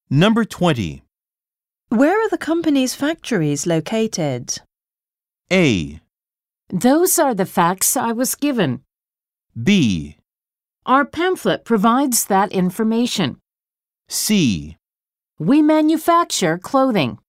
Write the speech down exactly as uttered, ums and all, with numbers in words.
Number twenty. Where are the company's factories located? A. Those are the facts I was given. B. Our pamphlet provides that information. C. We manufacture clothing.